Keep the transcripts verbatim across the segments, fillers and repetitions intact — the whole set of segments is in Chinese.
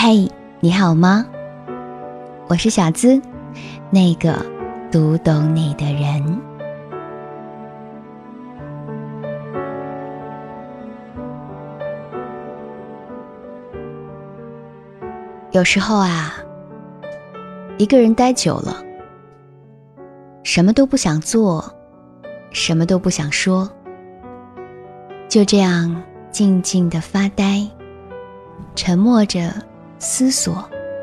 嘿，你好吗？我是小资，那个读懂你的人。有时候啊，一个人待久了，什么都不想做，什么都不想说，就这样静静地发呆，沉默着思索，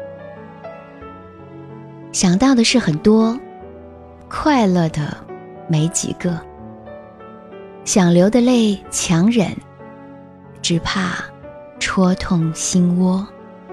想到的是很多，快乐的没几个，想流的泪强忍，只怕戳痛心窝。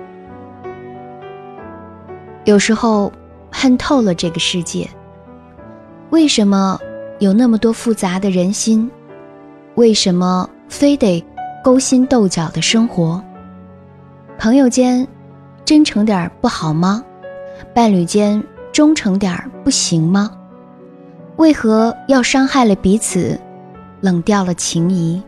有时候恨透了这个世界，为什么有那么多复杂的人心？为什么非得勾心斗角的生活？朋友间真诚点不好吗？伴侣间忠诚点不行吗？为何要伤害了彼此，冷掉了情谊？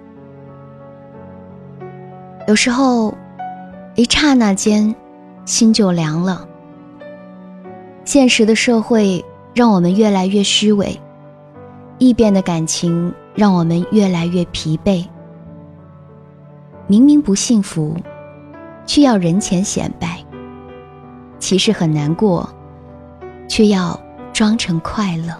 有时候一刹那间心就凉了。现实的社会让我们越来越虚伪，易变的感情让我们越来越疲惫。明明不幸福，却要人前显摆，其实很难过，却要装成快乐。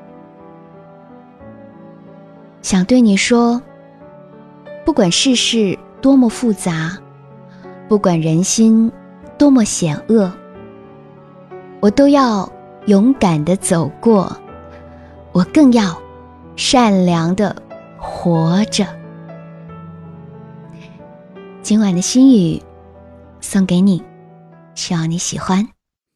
想对你说，不管世事多么复杂，不管人心多么险恶，我都要勇敢地走过，我更要善良地活着。今晚的心语送给你，希望你喜欢。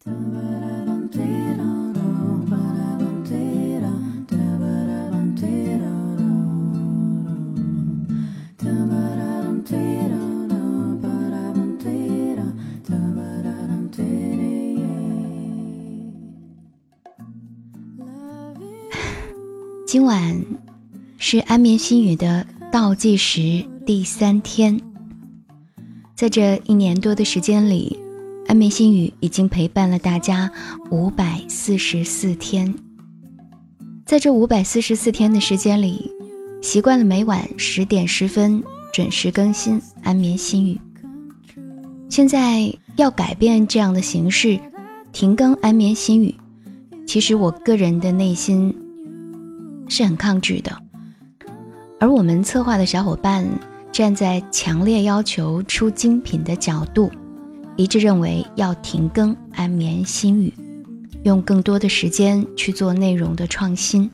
今晚是安眠心语的倒计时第三天，在这一年多的时间里，安眠心语已经陪伴了大家五百四十四天。在这五百四十四天的时间里，习惯了每晚十点十分准时更新安眠心语。现在要改变这样的形式，停更安眠心语，其实我个人的内心是很抗拒的，而我们策划的小伙伴站在强烈要求出精品的角度，一致认为要停更安眠心语，用更多的时间去做内容的创新。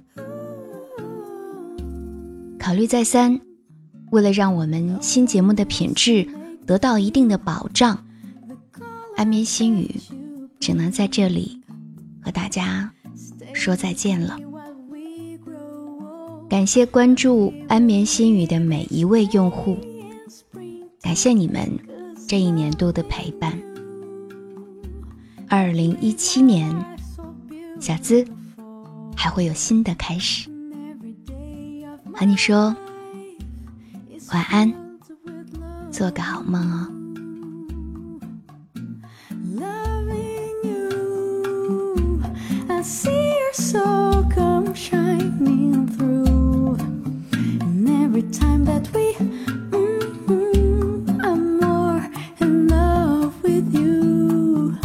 考虑再三，为了让我们新节目的品质得到一定的保障，安眠心语只能在这里和大家说再见了。感谢关注安眠心语的每一位用户，感谢你们这一年多的陪伴。二零一七年，小资还会有新的开始，和你说晚安，做个好梦哦。 Every time that we mm-hmm, I'm more in love with you.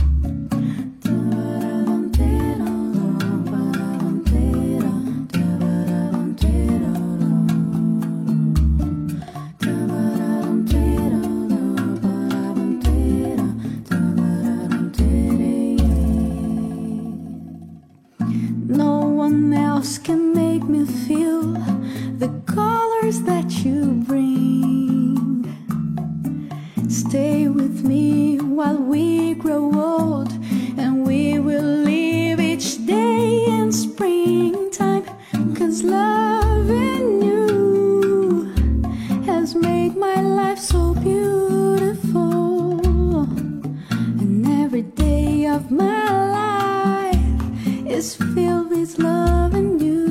No one else can make me feel the colors that you bring. Stay with me while we grow old, and we will live each day in springtime, 'cause loving you has made my life so beautiful, and every day of my life is filled with love and you.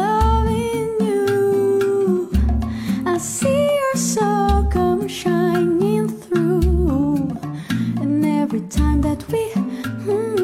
Loving you, I see your soul come shine time that we mm,